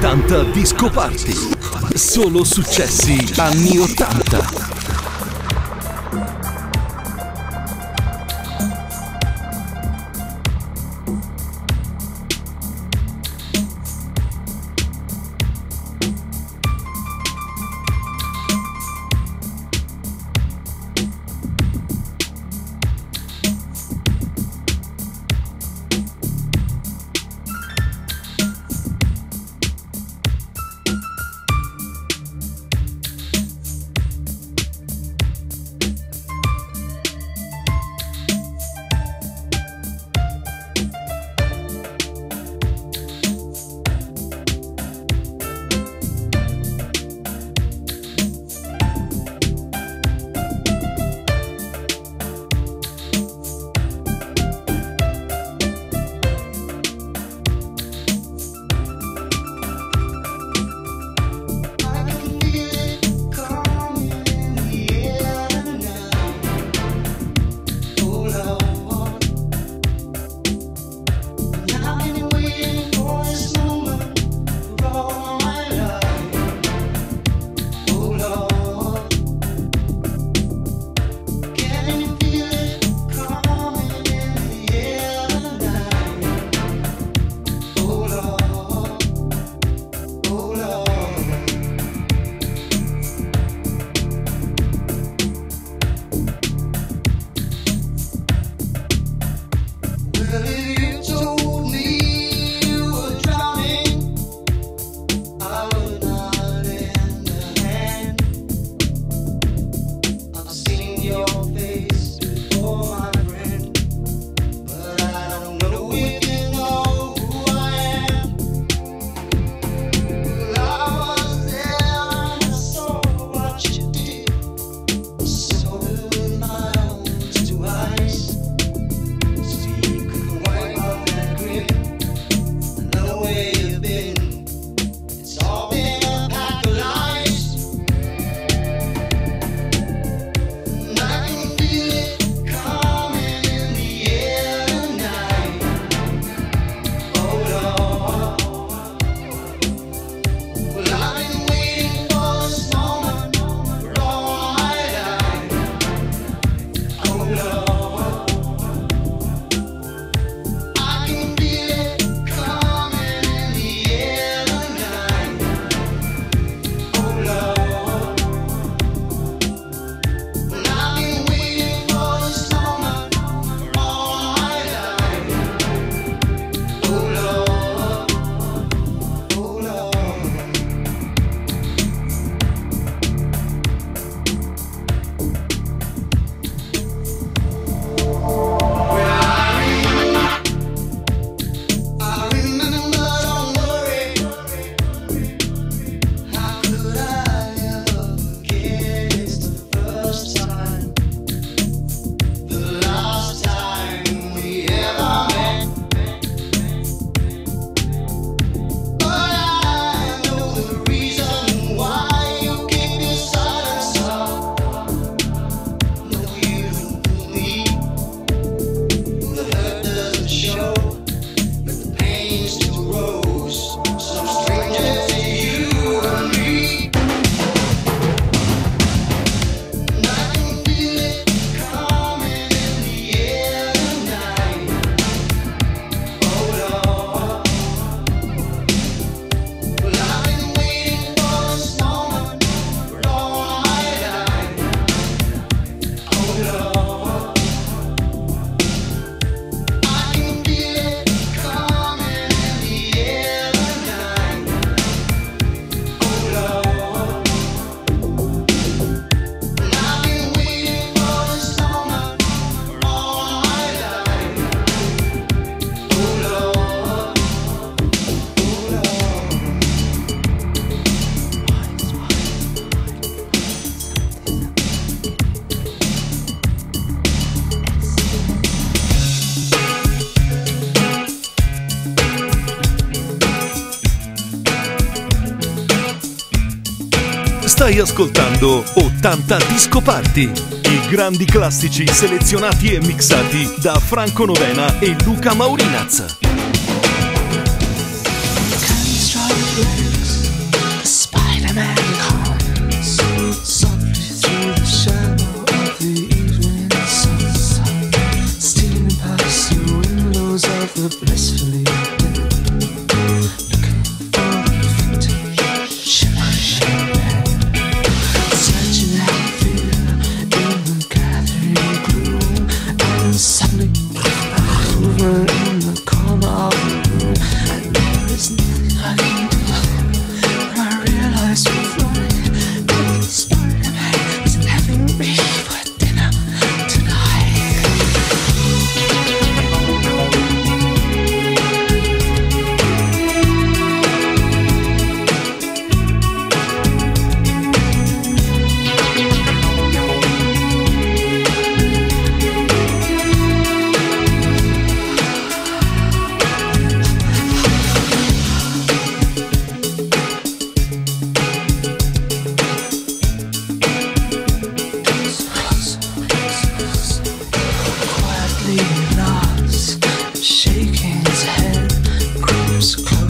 80 Disco Party. Solo successi anni 80. Stai ascoltando 80 Disco Party, i grandi classici selezionati e mixati da Franco Novena e Luca Maurinaz.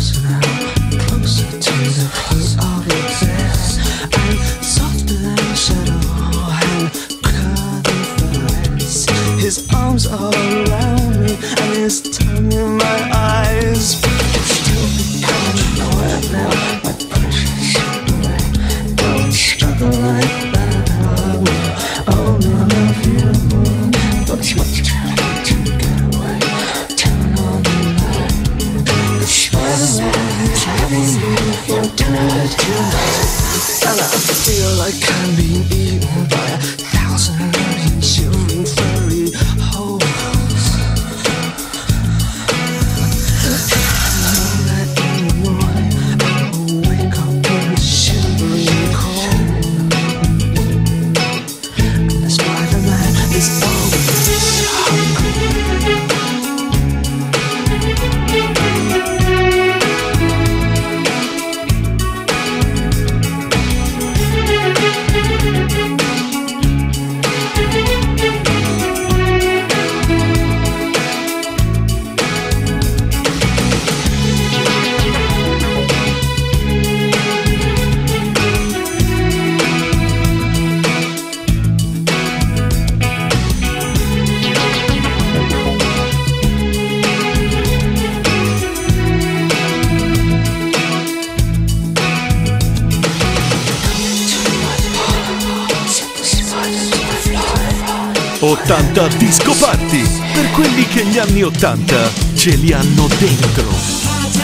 80 Disco Party, per quelli che gli anni 80 ce li hanno dentro.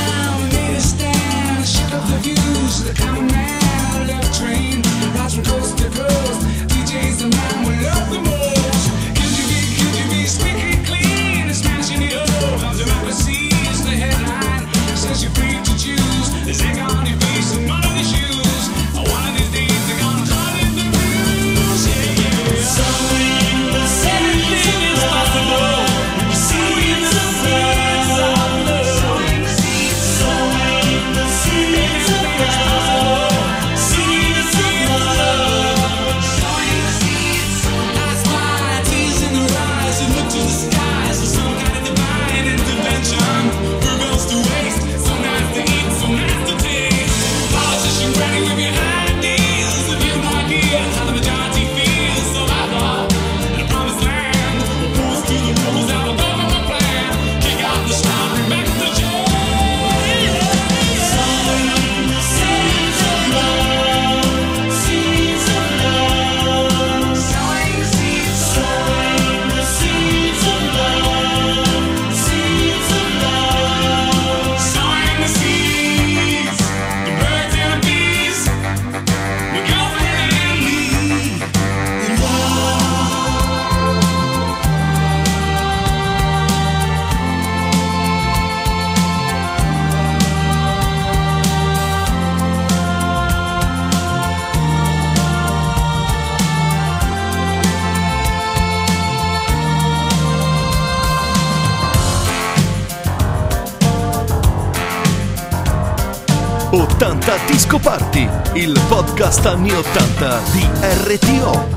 Disco Party, il podcast anni 80 di RTO.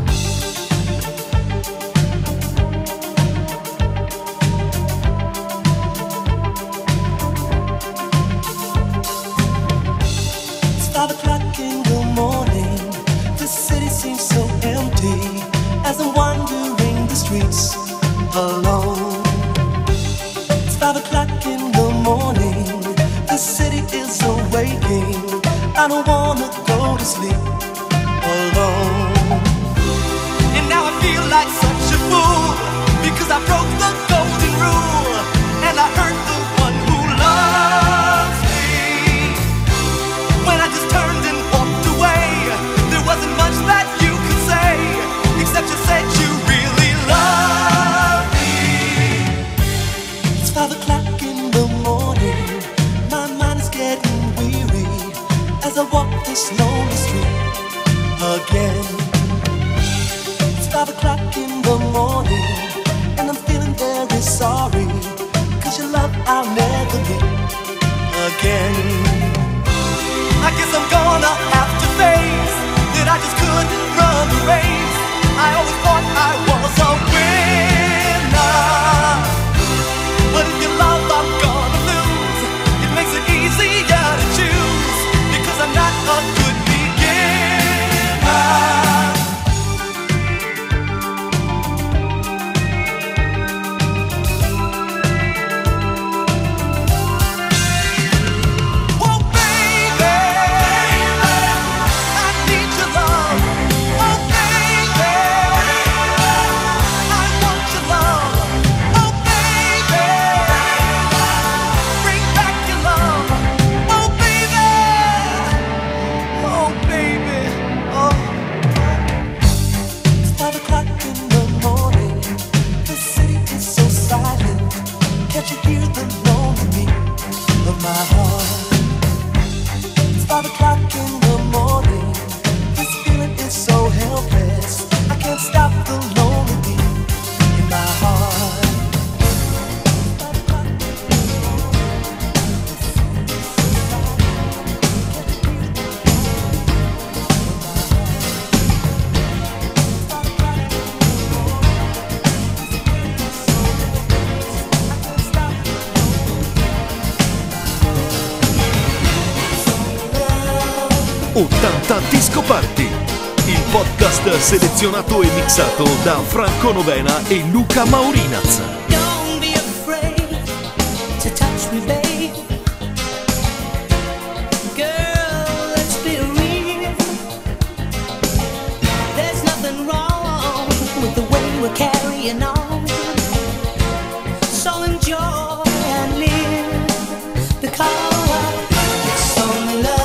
I don't wanna go to sleep alone. And now I feel like such a fool, because I broke the golden rule, and I hurt the one who loves me. When I just turned and walked away, there wasn't much that you could say, except you said you really love me. It's 5 o'clock in the morning, my mind is getting weary as I walk this lonely street again. It's 5 o'clock in the morning, and I'm feeling very sorry, 'cause your love I'll never meet again. I guess I'm gonna have to face that I just couldn't run the race. I always thought I was a winner, but if you love I'm gonna lose. It makes it easy 5 o'clock in the morning. This feeling is so helpless. I can't stop the lonely beat in my heart. Ottanta Disco Party, il podcast selezionato e mixato da Franco Novena e Luca Maurinaz. Don't be afraid to touch me, babe. Girl, let's be real. There's nothing wrong with the way we're carrying on. So enjoy and live, because it's only love.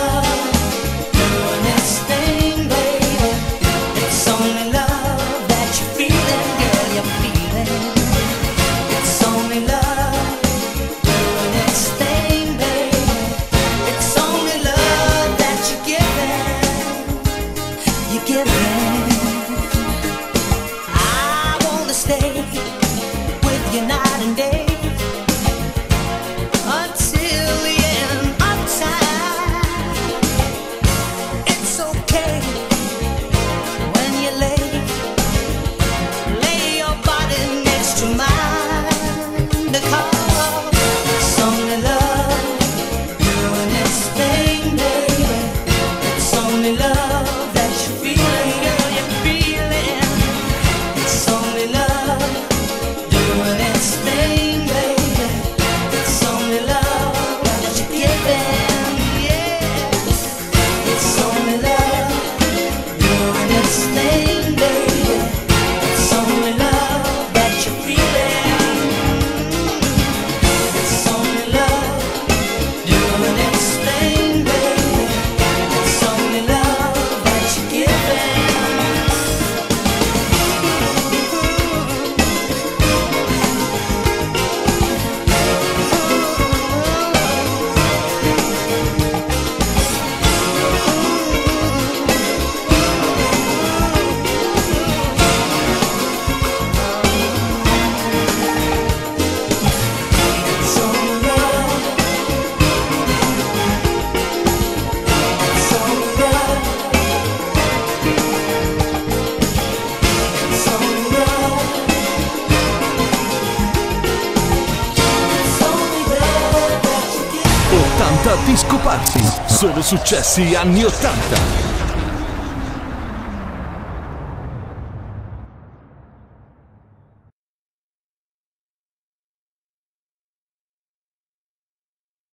Disco Party, solo successi anni 80.